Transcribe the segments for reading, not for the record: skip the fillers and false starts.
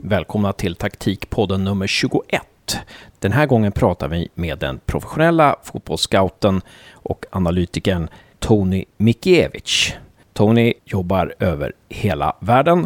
Välkomna till taktikpodden nummer 21. Den här gången pratar vi med den professionella fotbollsscouten och analytikern Tony Mikiewicz. Tony jobbar över hela världen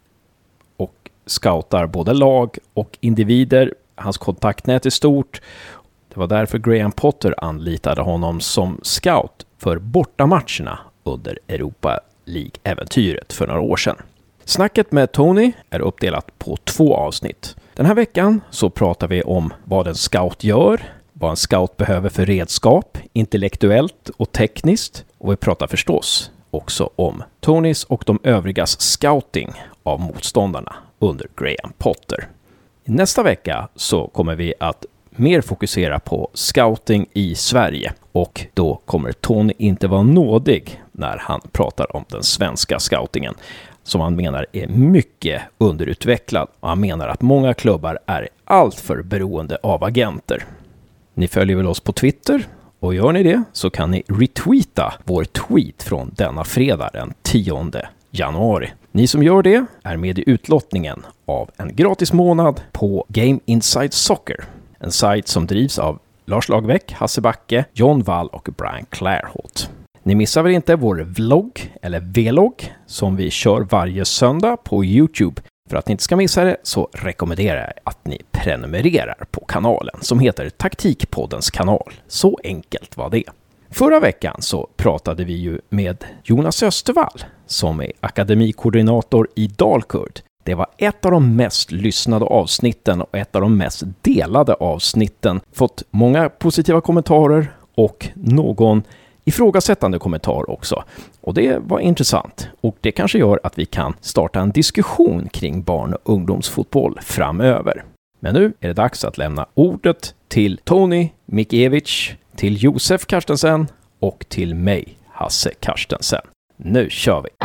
och scoutar både lag och individer. Hans kontaktnät är stort. Det var därför Graham Potter anlitade honom som scout för bortamatcherna under Europa League-äventyret för några år sedan. Snacket med Tony är uppdelat på 2 avsnitt. Den här veckan så pratar vi om vad en scout gör, vad en scout behöver för redskap, intellektuellt och tekniskt. Och vi pratar förstås också om Tonys och de övrigas scouting av motståndarna under Graham Potter. I nästa vecka så kommer vi att mer fokusera på scouting i Sverige, och då kommer Tony inte vara nådig när han pratar om den svenska scoutingen, som han menar är mycket underutvecklad, och han menar att många klubbar är alltför beroende av agenter. Ni följer väl oss på Twitter, och gör ni det så kan ni retweeta vår tweet från denna fredag den 10 januari. Ni som gör det är med i utlottningen av en gratis månad på Game Inside Soccer, en sajt som drivs av Lars Lagerbäck, Hasse Backe, John Wall och Brian Clairholt. Ni missar väl inte vår vlogg eller vlogg som vi kör varje söndag på YouTube. För att ni inte ska missa det så rekommenderar jag att ni prenumererar på kanalen som heter Taktikpoddens kanal. Så enkelt var det. Förra veckan så pratade vi ju med Jonas Östervall som är akademikoordinator i Dalkurd. Det var ett av de mest lyssnade avsnitten och ett av de mest delade avsnitten. Fått många positiva kommentarer och någon ifrågasättande kommentar också. Och det var intressant. Och det kanske gör att vi kan starta en diskussion kring barn- och ungdomsfotboll framöver. Men nu är det dags att lämna ordet till Tony Mikiewicz, till Josef Carstensen och till mig, Hasse Carstensen. Nu kör vi!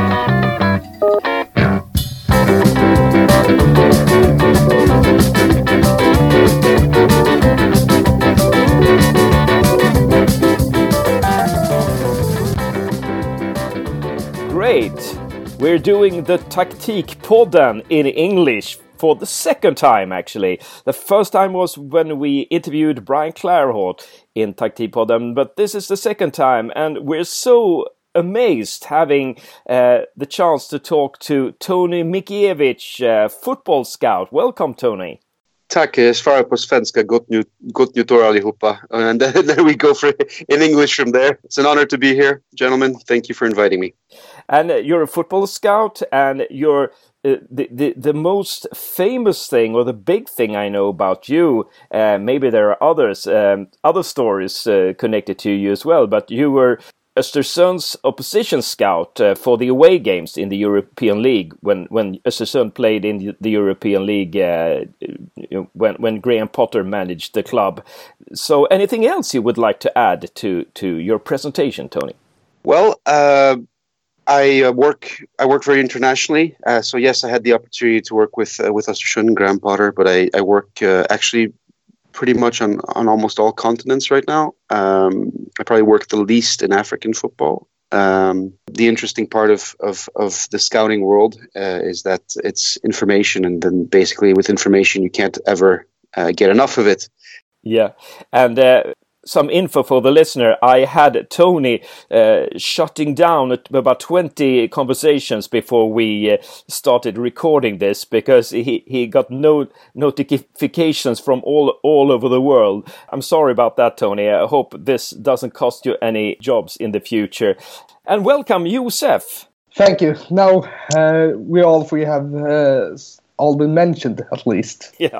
Great! We're doing the Taktikpodden in English for the second time, actually. The first time was when we interviewed Brian Clairholt in Taktikpodden, but this is the second time, and we're so amazed having the chance to talk to Tony Mikiewicz, football scout. Welcome, Tony. Tack, svara på svenska. Gott nytt år allihopa. And then we go for in English from there. It's an honor to be here, gentlemen. Thank you for inviting me. And you're a football scout, and you're the most famous thing, or the big thing I know about you. Maybe there are others, other stories connected to you as well. But you were Östersund's opposition scout for the away games in the European League when Östersund played in the European League when Graham Potter managed the club. So anything else you would like to add to your presentation, Tony? Well, I work very internationally. So yes, I had the opportunity to work with Östersund and Graham Potter, but I work actually pretty much on almost all continents right now. I probably work the least in African football. The interesting part of the scouting world is that it's information, and then basically with information you can't ever get enough of it. Yeah, and some info for the listener. I had Tony shutting down about 20 conversations before we started recording this, because he got no notifications from all over the world. I'm sorry about that, Tony. I hope this doesn't cost you any jobs in the future. And welcome, Josef. Thank you. Now we all three have all been mentioned, at least. Yeah.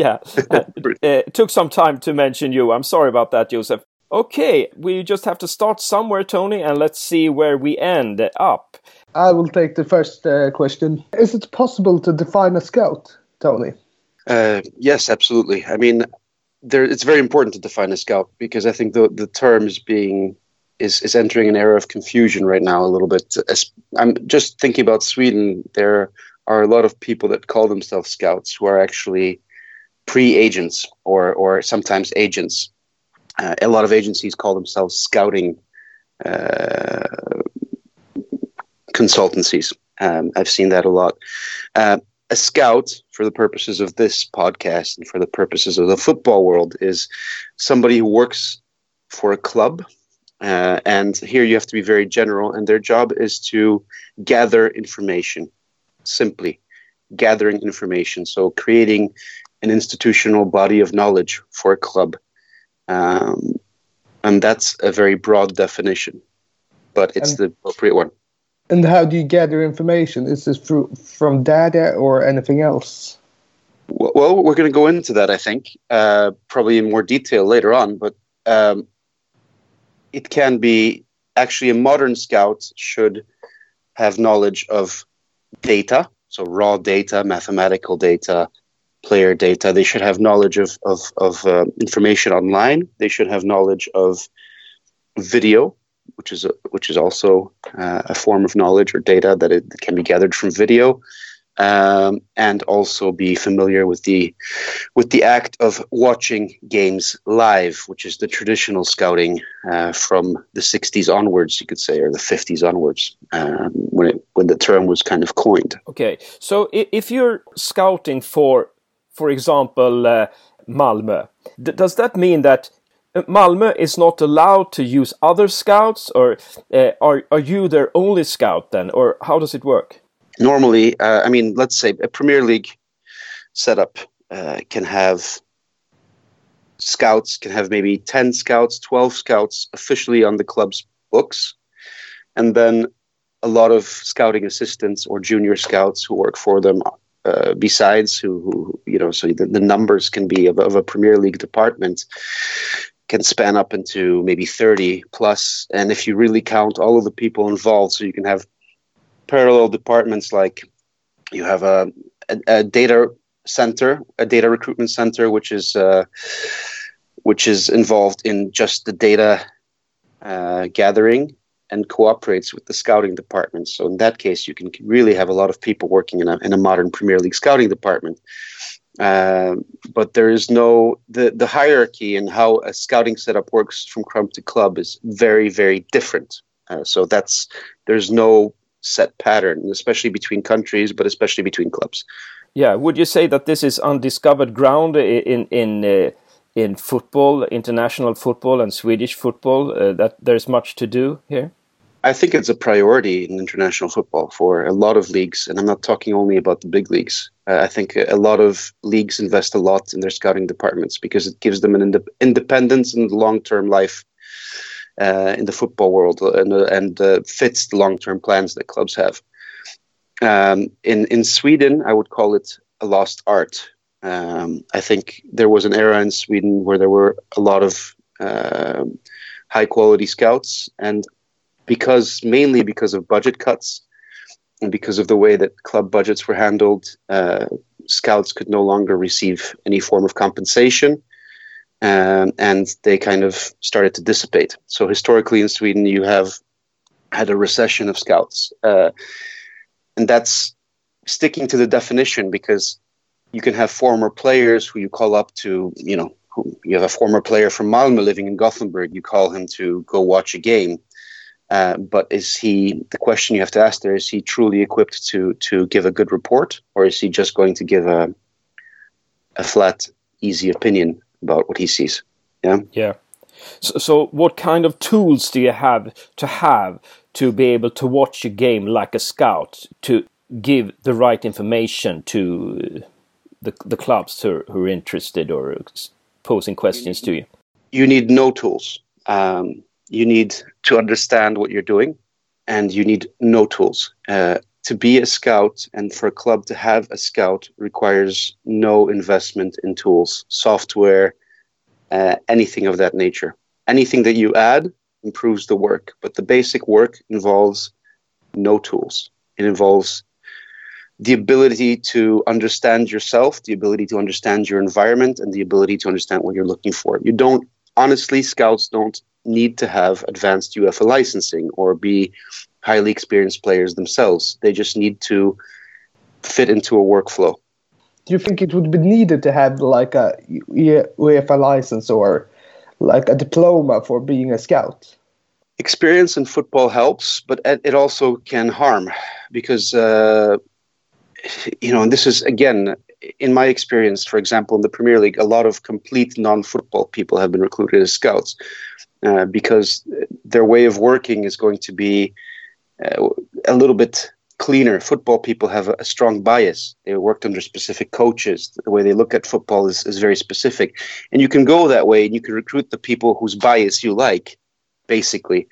It took some time to mention you. I'm sorry about that, Josef. Okay, we just have to start somewhere, Tony, and let's see where we end up. I will take the first question. Is it possible to define a scout, Tony? Yes, absolutely. I mean, it's very important to define a scout, because I think the terms is entering an era of confusion right now a little bit. I'm just thinking about Sweden. There are a lot of people that call themselves scouts who are actually pre-agents or sometimes agents. A lot of agencies call themselves scouting consultancies. I've seen that a lot. a scout, for the purposes of this podcast and for the purposes of the football world, is somebody who works for a club. And here you have to be very general. And their job is to gather information, simply gathering information. So creating an institutional body of knowledge for a club. And that's a very broad definition, but it's the appropriate one. And how do you gather information? Is this from data or anything else? Well, we're going to go into that, I think, probably in more detail later on. But it can be actually a modern scout should have knowledge of data, so raw data, mathematical data, player data. They should have knowledge of information online. They should have knowledge of video, which is also a form of knowledge or data that it can be gathered from video, and also be familiar with the act of watching games live, which is the traditional scouting from the 60s onwards, you could say, or the 50s onwards, when the term was kind of coined. Okay, so if you're scouting for example, Malmö, does that mean that Malmö is not allowed to use other scouts, or are you their only scout then, or how does it work? Normally, let's say a Premier League setup can have scouts, can have maybe 10 scouts, 12 scouts officially on the club's books, and then a lot of scouting assistants or junior scouts who work for them besides, who so the numbers can be of a Premier League department can span up into maybe 30 plus. And if you really count all of the people involved, so you can have parallel departments, like you have a data center, a data recruitment center, which is involved in just the data gathering and cooperates with the scouting department. So in that case, you can really have a lot of people working in a modern Premier League scouting department. But there is the hierarchy in how a scouting setup works from club to club is very, very different. So there's no set pattern, especially between countries, but especially between clubs. Yeah, would you say that this is undiscovered ground in football, international football and Swedish football, that there's much to do here? I think it's a priority in international football for a lot of leagues, and I'm not talking only about the big leagues. I think a lot of leagues invest a lot in their scouting departments because it gives them an independence and long-term life in the football world, and fits the long-term plans that clubs have. In Sweden, I would call it a lost art. I think there was an era in Sweden where there were a lot of high-quality scouts, and mainly because of budget cuts and because of the way that club budgets were handled, scouts could no longer receive any form of compensation, and they kind of started to dissipate. So historically in Sweden, you have had a recession of scouts, and that's sticking to the definition, because you can have former players who you call up to, you have a former player from Malmö living in Gothenburg, you call him to go watch a game. But the question you have to ask there, is he truly equipped to give a good report, or is he just going to give a flat, easy opinion about what he sees? Yeah. Yeah. So what kind of tools do you have to be able to watch a game like a scout, to give the right information to the clubs who are interested or posing questions to you? You need no tools. You need to understand what you're doing, and you need no tools. To be a scout and for a club to have a scout requires no investment in tools, software, anything of that nature. Anything that you add improves the work, but the basic work involves no tools. It involves the ability to understand yourself, the ability to understand your environment, and the ability to understand what you're looking for. Scouts don't need to have advanced UEFA licensing or be highly experienced players themselves. They just need to fit into a workflow. Do you think it would be needed to have like a UEFA license or like a diploma for being a scout? Experience in football helps, but it also can harm, because and this is, again, in my experience, for example, in the Premier League, a lot of complete non-football people have been recruited as scouts because their way of working is going to be a little bit cleaner. Football people have a strong bias. They worked under specific coaches. The way they look at football is very specific. And you can go that way and you can recruit the people whose bias you like, basically.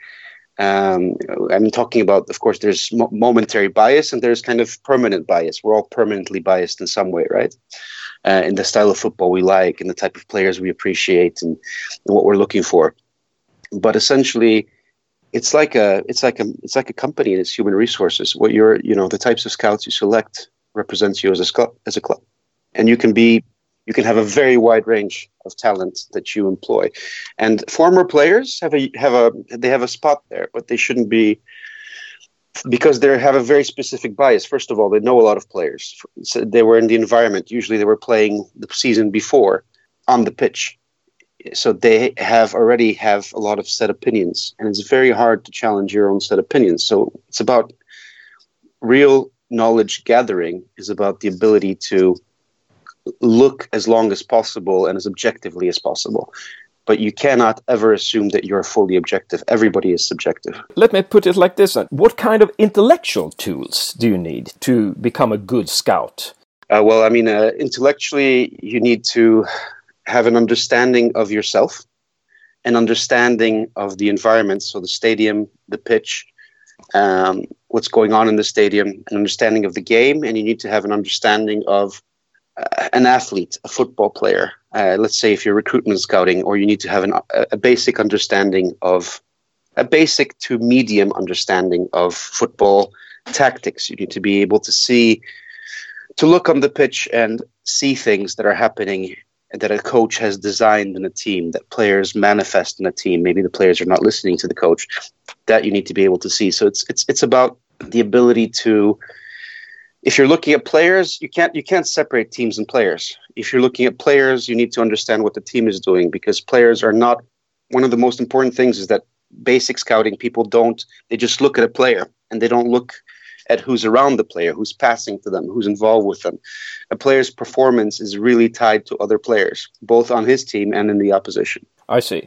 I'm talking about, of course, there's momentary bias and there's kind of permanent bias. We're all permanently biased in some way, right? In the style of football we like and the type of players we appreciate and what we're looking for. But essentially, it's like a company and it's human resources. What the types of scouts you select represents you as a club, and you can have a very wide range of talent that you employ. And former players have a spot there, but they shouldn't be, because they have a very specific bias. First of all, they know a lot of players. So they were in the environment. Usually they were playing the season before on the pitch. So they already have a lot of set opinions, and it's very hard to challenge your own set opinions. So it's about real knowledge gathering, is about the ability to look as long as possible and as objectively as possible. But you cannot ever assume that you're fully objective. Everybody is subjective. Let me put it like this. What kind of intellectual tools do you need to become a good scout? Intellectually, you need to have an understanding of yourself, an understanding of the environment, so the stadium, the pitch, what's going on in the stadium, an understanding of the game, and you need to have an understanding of an athlete, a football player. Let's say if you're recruitment scouting, or you need to have a basic understanding of, a basic to medium understanding of football tactics. You need to be able to look on the pitch and see things that are happening that a coach has designed in a team, that players manifest in a team. Maybe the players are not listening to the coach. That you need to be able to see. So it's about the ability to, if you're looking at players, you can't separate teams and players. If you're looking at players, you need to understand what the team is doing, because players are not, one of the most important things is that basic scouting people they just look at a player and they don't look at who's around the player, who's passing to them, who's involved with them. A player's performance is really tied to other players, both on his team and in the opposition. I see.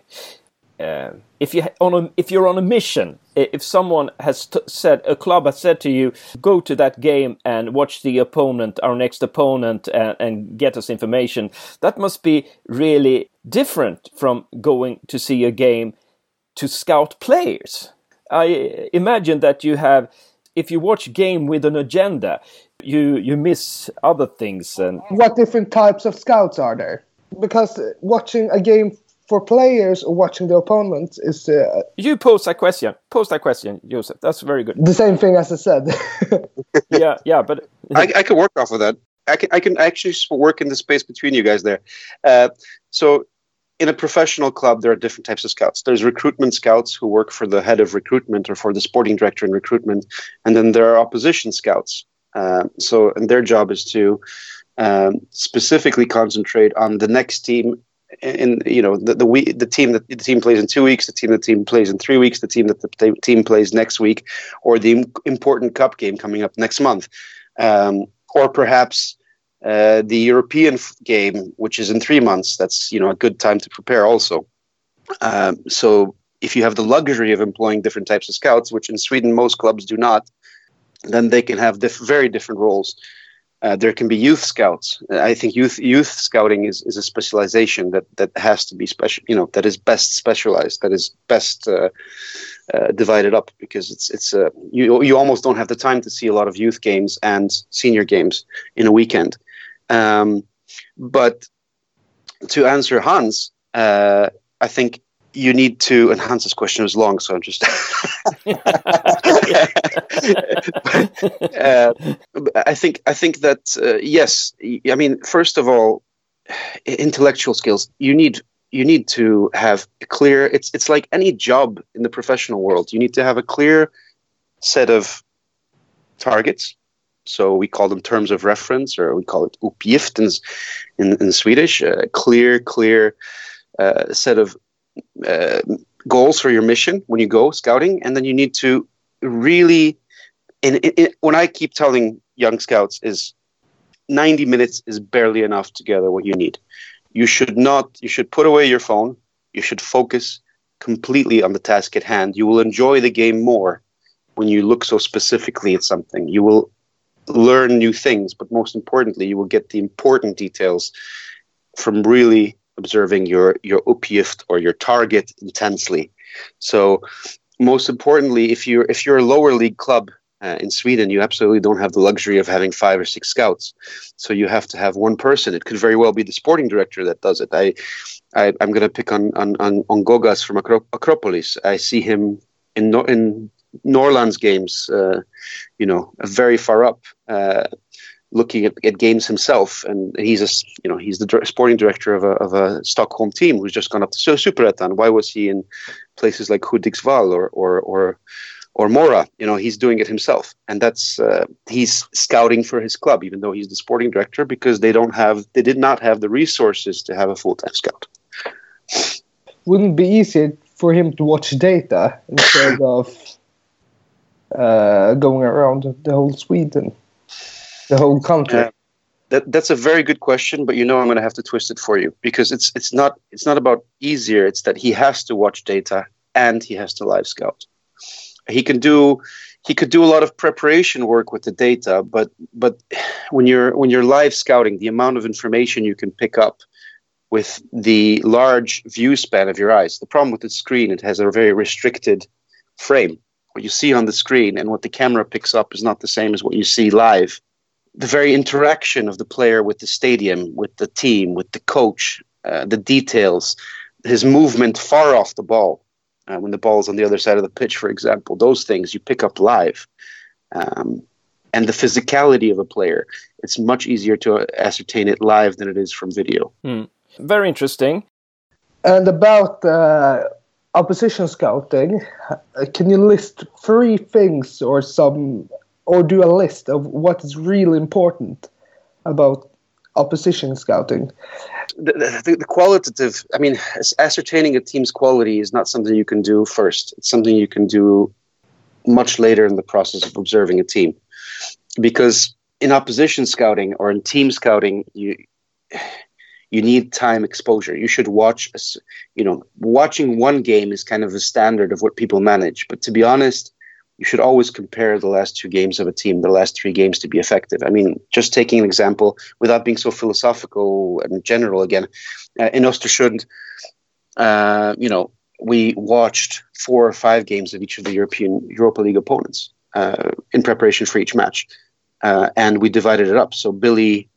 If you're on a mission, if someone has a club has said to you, go to that game and watch the opponent, our next opponent, and get us information, that must be really different from going to see a game to scout players. I imagine that if you watch game with an agenda, you miss other things. And what different types of scouts are there? Because watching a game for players or watching the opponent is... You pose that question. Joseph. That's very good. The same thing as I said. yeah, but... I can work off of that. I can actually work in the space between you guys there. So in a professional club, there are different types of scouts. There's recruitment scouts who work for the head of recruitment or for the sporting director in recruitment. And then there are opposition scouts. And their job is to specifically concentrate on the next team, in the team that the team plays in 2 weeks, the team plays in 3 weeks, the team that the team plays next week, or the important cup game coming up next month, or perhaps the European game, which is in 3 months. That's a good time to prepare also. So if you have the luxury of employing different types of scouts, which in Sweden most clubs do not, then they can have very different roles. There can be youth scouts. I think youth scouting is a specialization that has to be special. That is best specialized. That is best divided up, because you almost don't have the time to see a lot of youth games and senior games in a weekend. But to answer Hans, I think you need to, and Hans's question was long, so I'm just... I think that, yes, I mean, first of all, intellectual skills, you need to have a clear, it's like any job in the professional world. You need to have a clear set of targets. So we call them terms of reference, or we call it uppgift in Swedish, a clear set of goals for your mission when you go scouting. And then you need to really when I keep telling young scouts is 90 minutes is barely enough to gather what you need. You should put away your phone. You should focus completely on the task at hand. You will enjoy the game more when you look so specifically at something. You will learn new things, but most importantly, you will get the important details from really observing your uppgift or your target intensely. So most importantly, if you're a lower league club in Sweden, you absolutely don't have the luxury of having 5 or 6 scouts. So you have to have one person. It could very well be the sporting director that does it. I'm going to pick on Gogas from Acropolis. I see him in Norrlands games, very far up, looking at games himself, and he's the sporting director of a Stockholm team who's just gone up to Superettan. Why was he in places like Hudiksvall or Mora? He's doing it himself, and that's he's scouting for his club, even though he's the sporting director, because they did not have the resources to have a full-time scout. Wouldn't it be easier for him to watch data instead of going around the whole Sweden, the whole country? That's a very good question, but I'm going to have to twist it for you, because it's not about easier. It's that he has to watch data and he has to live scout. He could do a lot of preparation work with the data, but when you're live scouting, the amount of information you can pick up with the large view span of your eyes. The problem with the screen, it has a very restricted frame. What you see on the screen and what the camera picks up is not the same as what you see live. The very interaction of the player with the stadium, with the team, with the coach, the details, his movement far off the ball, when the ball's on the other side of the pitch, for example, those things you pick up live. And the physicality of a player, it's much easier to ascertain it live than it is from video. Very interesting. And about opposition scouting, can you list 3 things or do a list of what is really important about opposition scouting? The qualitative, ascertaining a team's quality is not something you can do first. It's something you can do much later in the process of observing a team. Because in opposition scouting or in team scouting, you need time exposure. You should watching one game is kind of a standard of what people manage. But to be honest, you should always compare the last 2 games of a team, the last 3 games, to be effective. Just taking an example, without being so philosophical and general again, in Östersund, we watched 4 or 5 games of each of the Europa League opponents in preparation for each match. And we divided it up. So Billy,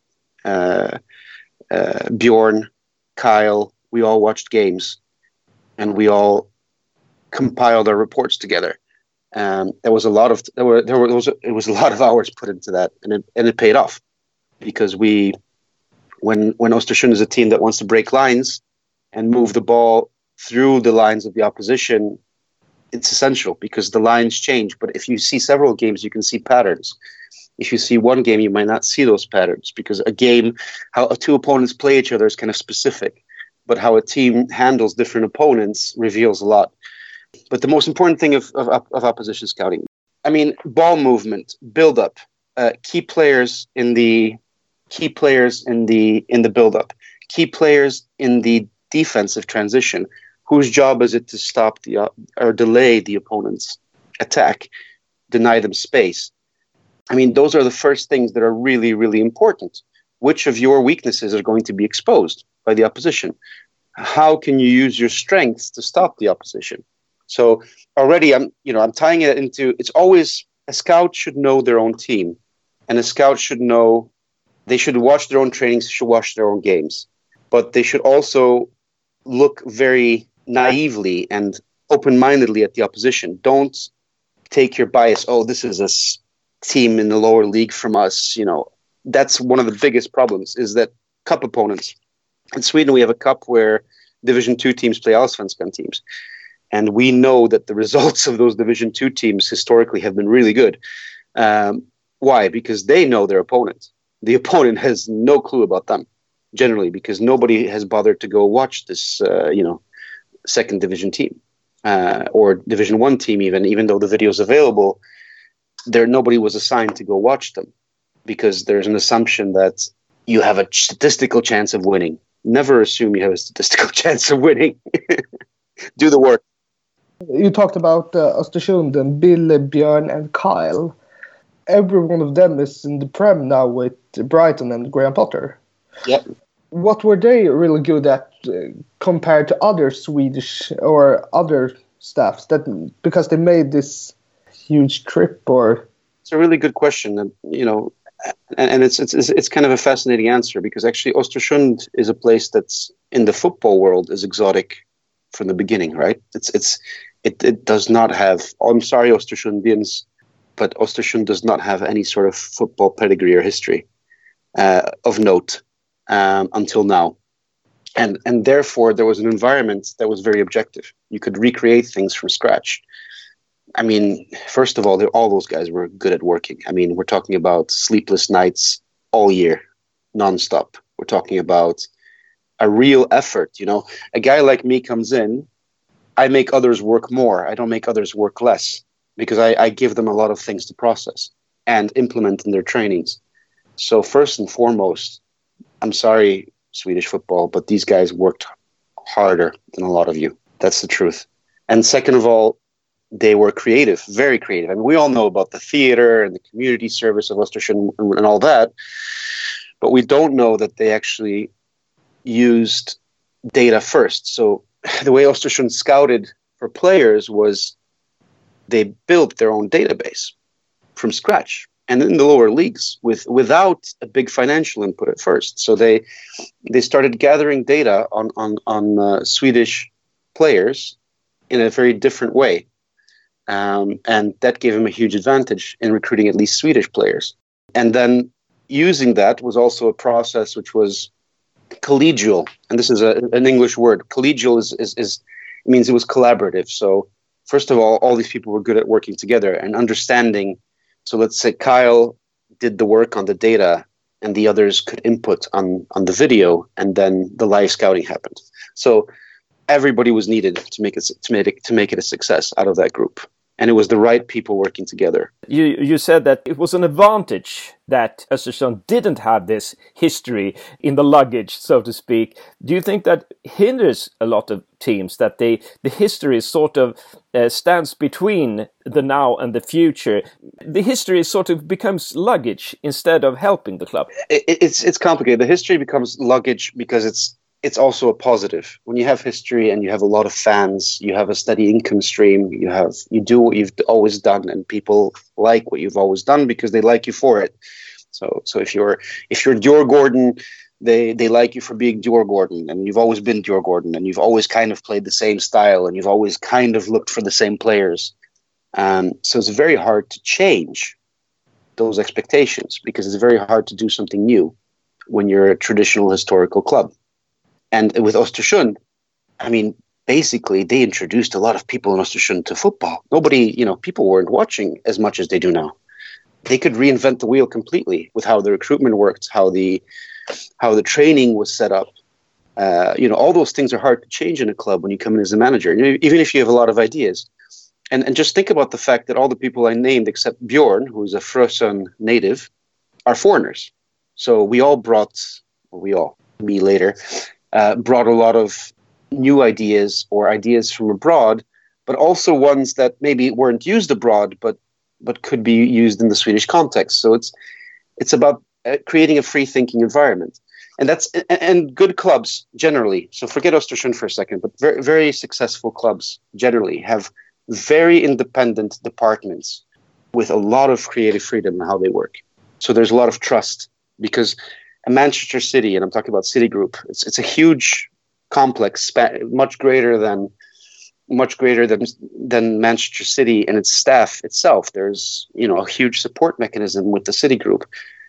Bjorn, Kyle, we all watched games, and we all compiled our reports together. There was a lot of hours put into that, and it paid off, because when Östersund is a team that wants to break lines and move the ball through the lines of the opposition, it's essential, because the lines change. But if you see several games, you can see patterns. If you see one game, you might not see those patterns, because a game, how 2 opponents play each other is kind of specific, but how a team handles different opponents reveals a lot. But the most important thing of opposition scouting, ball movement, build up, key players in the build up, key players in the defensive transition. Whose job is it to stop or delay the opponent's attack, deny them space? Those are the first things that are really, really important. Which of your weaknesses are going to be exposed by the opposition? How can you use your strengths to stop the opposition? So already I'm tying it into, it's always, a scout should know their own team, and a scout should know, they should watch their own trainings, should watch their own games, but they should also look very naively and open-mindedly at the opposition. Don't take your bias, this is a team in the lower league from us. That's one of the biggest problems, is that cup opponents. In Sweden, we have a cup where Division 2 teams play Allsvenskan teams. And we know that the results of those Division 2 teams historically have been really good. Why? Because they know their opponent. The opponent has no clue about them, generally, because nobody has bothered to go watch this, second division team or Division 1 team, even though the video is available. nobody was assigned to go watch them because there's an assumption that you have a statistical chance of winning. Never assume you have a statistical chance of winning. Do the work. You talked about Östersund and Bill, Björn, and Kyle. Every one of them is in the Prem now with Brighton and Graham Potter. Yep. What were they really good at compared to other Swedish or other staffs because they made this huge trip? Or it's a really good question, and it's kind of a fascinating answer because actually Östersund is a place that's in the football world is exotic from the beginning, right? It does not have. I'm sorry, Östersundians, but Östersund does not have any sort of football pedigree or history of note until now. And therefore, there was an environment that was very objective. You could recreate things from scratch. I mean, first of all, all those guys were good at working. I mean, we're talking about sleepless nights all year, nonstop. We're talking about a real effort. A guy like me comes in, I make others work more. I don't make others work less because I give them a lot of things to process and implement in their trainings. So first and foremost, I'm sorry, Swedish football, but these guys worked harder than a lot of you. That's the truth. And second of all, they were creative, very creative. I mean, we all know about the theater and the community service of Östersund and all that, but we don't know that they actually used data first. So the way Östersund scouted for players was they built their own database from scratch. And in the lower leagues without a big financial input at first. So they started gathering data on Swedish players in a very different way. And that gave them a huge advantage in recruiting at least Swedish players. And then using that was also a process which was collegial. And this is an English word. Collegial means it was collaborative. So first of all these people were good at working together and understanding. So let's say Kyle did the work on the data and the others could input on the video, and then the live scouting happened. So everybody was needed to make it a success out of that group. And it was the right people working together. You said that it was an advantage that Östersund didn't have this history in the luggage, so to speak. Do you think that hinders a lot of teams, that the history sort of stands between the now and the future? The history sort of becomes luggage instead of helping the club. It's complicated. The history becomes luggage because it's also a positive. When you have history and you have a lot of fans, you have a steady income stream, you do what you've always done, and people like what you've always done because they like you for it. So if you're Djurgården, they like you for being Djurgården, and you've always been Djurgården, and you've always kind of played the same style, and you've always kind of looked for the same players. So it's very hard to change those expectations because it's very hard to do something new when you're a traditional historical club. And with Östersund, I mean, basically, they introduced a lot of people in Östersund to football. People weren't watching as much as they do now. They could reinvent the wheel completely with how the recruitment worked, how the training was set up. All those things are hard to change in a club when you come in as a manager, even if you have a lot of ideas. And just think about the fact that all the people I named, except Bjorn, who's a Frösön native, are foreigners. So me later, brought a lot of new ideas or ideas from abroad, but also ones that maybe weren't used abroad, but could be used in the Swedish context. So it's about creating a free thinking environment, and good clubs generally. So forget Östersund for a second, but very, very successful clubs generally have very independent departments with a lot of creative freedom in how they work. So there's a lot of trust because Manchester City, and I'm talking about City Group, it's a huge complex, much greater than Manchester City and its staff itself. There's a huge support mechanism with the City Group,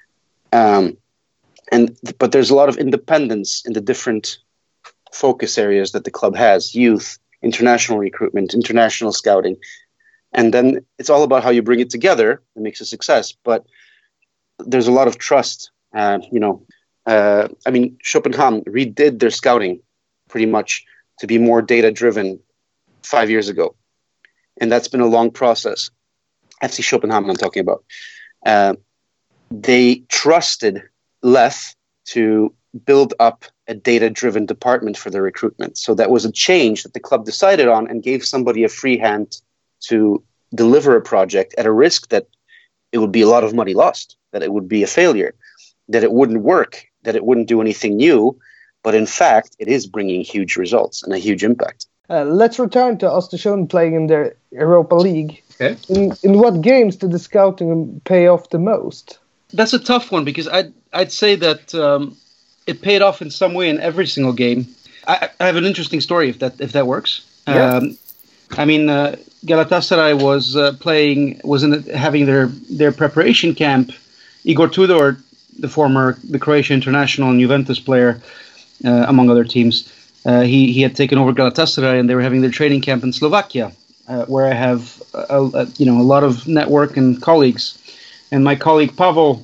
but there's a lot of independence in the different focus areas that the club has: youth, international recruitment, international scouting, and then it's all about how you bring it together and makes a success. But there's a lot of trust. Schopenhauer redid their scouting pretty much to be more data driven 5 years ago. And that's been a long process. FC Copenhagen I'm talking about, they trusted Leth to build up a data-driven department for their recruitment. So that was a change that the club decided on and gave somebody a free hand to deliver a project at a risk that it would be a lot of money lost, that it would be a failure, that it wouldn't work, that it wouldn't do anything new. But in fact, it is bringing huge results and a huge impact. Let's return to Östersund playing in the Europa League. Okay. In what games did the scouting pay off the most? That's a tough one because I'd say that it paid off in some way in every single game. I have an interesting story if that works. Yeah. Galatasaray was having their preparation camp. Igor Tudor, the Croatian international and Juventus player, among other teams, he had taken over Galatasaray, and they were having their training camp in Slovakia, where I have a lot of network and colleagues. And my colleague Pavel,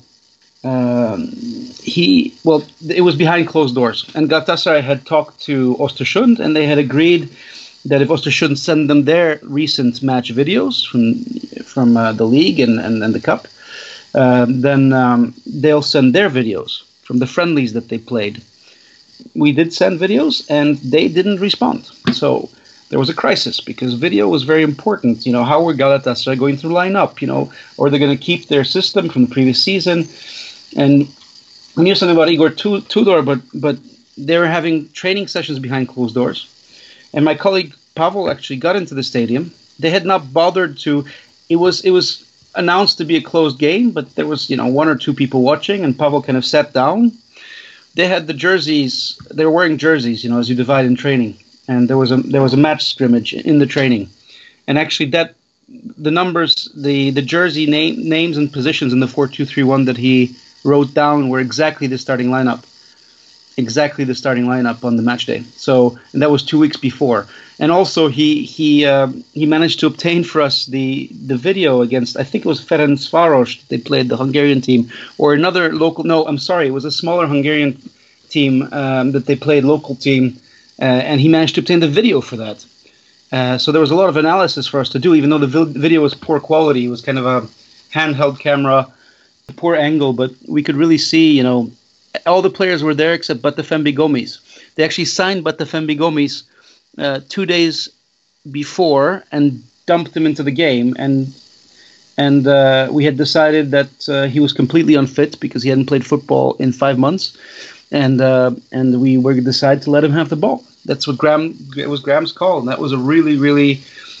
it was behind closed doors, and Galatasaray had talked to Östersund, and they had agreed that if Östersund send them their recent match videos from the league and the cup, then they'll send their videos from the friendlies that they played. We did send videos, and they didn't respond. So there was a crisis because video was very important. How were Galatasaray going to line up? Or they're going to keep their system from the previous season. And we knew something about Igor Tudor, but they were having training sessions behind closed doors. And my colleague Pavel actually got into the stadium. They had not bothered to. It was announced to be a closed game, but there was one or two people watching, and Pavel kind of sat down. They had the jerseys. They were wearing jerseys, as you divide in training. And there was a match scrimmage in the training, and actually the numbers, the jersey names and positions in the 4-2-3-1 that he wrote down were exactly the starting lineup on the match day. So, and that was 2 weeks before. And also he managed to obtain for us the video against, I think it was Ferencváros. They played the Hungarian team, or another local. No, I'm sorry, it was a smaller Hungarian team that they played, local team, and he managed to obtain the video for that. So there was a lot of analysis for us to do, even though the video was poor quality. It was kind of a handheld camera, poor angle, but we could really see, all the players were there except Batafembi Gomis. They actually signed Batafembi Gomis 2 days before and dumped him into the game, and we had decided that he was completely unfit because he hadn't played football in 5 months, and we were decided to let him have the ball. That's what it was Graham's call, and that was a really, really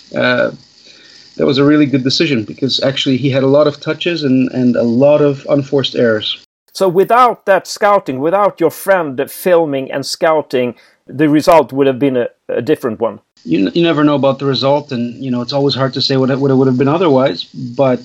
good decision because actually he had a lot of touches and a lot of unforced errors. So without that scouting, without your friend filming and scouting, the result would have been a different one. You never know about the result, and it's always hard to say what it would have been otherwise. But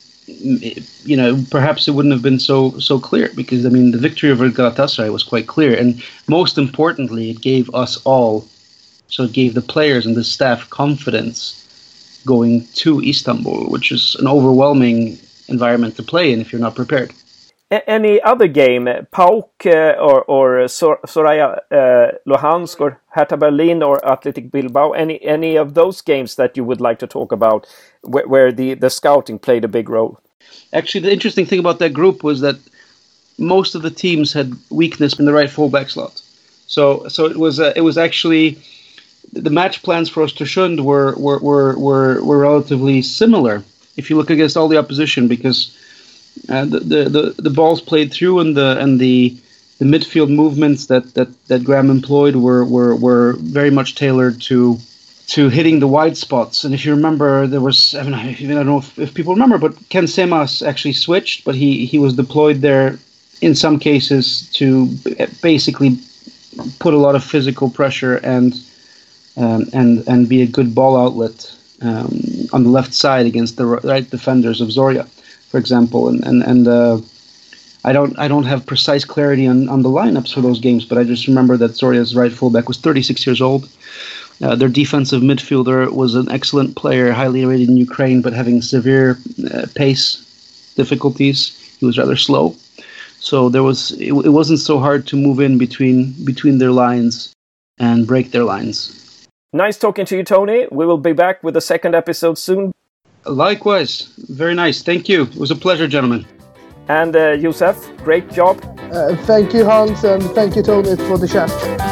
perhaps it wouldn't have been so clear because the victory over Galatasaray was quite clear, and most importantly, it gave us all, so it gave the players and the staff confidence going to Istanbul, which is an overwhelming environment to play in if you're not prepared. Any other game, PAOK or Soraya Luhansk or Hertha Berlin or Athletic Bilbao, any of those games that you would like to talk about where the scouting played a big role? Actually, the interesting thing about that group was that most of the teams had weakness in the right fullback slot. So it was actually the match plans for Östersund were relatively similar if you look against all the opposition because the balls played through and the midfield movements that Graham employed were very much tailored to hitting the wide spots. And if you remember, there was I don't know if people remember, but Ken Semas actually switched, but he was deployed there in some cases to basically put a lot of physical pressure and be a good ball outlet on the left side against the right defenders of Zorya, for example, and I don't have precise clarity on the lineups for those games, but I just remember that Zorya's right fullback was 36 years old. Their defensive midfielder was an excellent player, highly rated in Ukraine, but having severe pace difficulties. He was rather slow, so it wasn't so hard to move in between their lines and break their lines. Nice talking to you, Tony. We will be back with the second episode soon. Likewise. Very nice. Thank you. It was a pleasure, gentlemen. And Josef, great job. Thank you, Hans, and thank you, Tony, for the chat.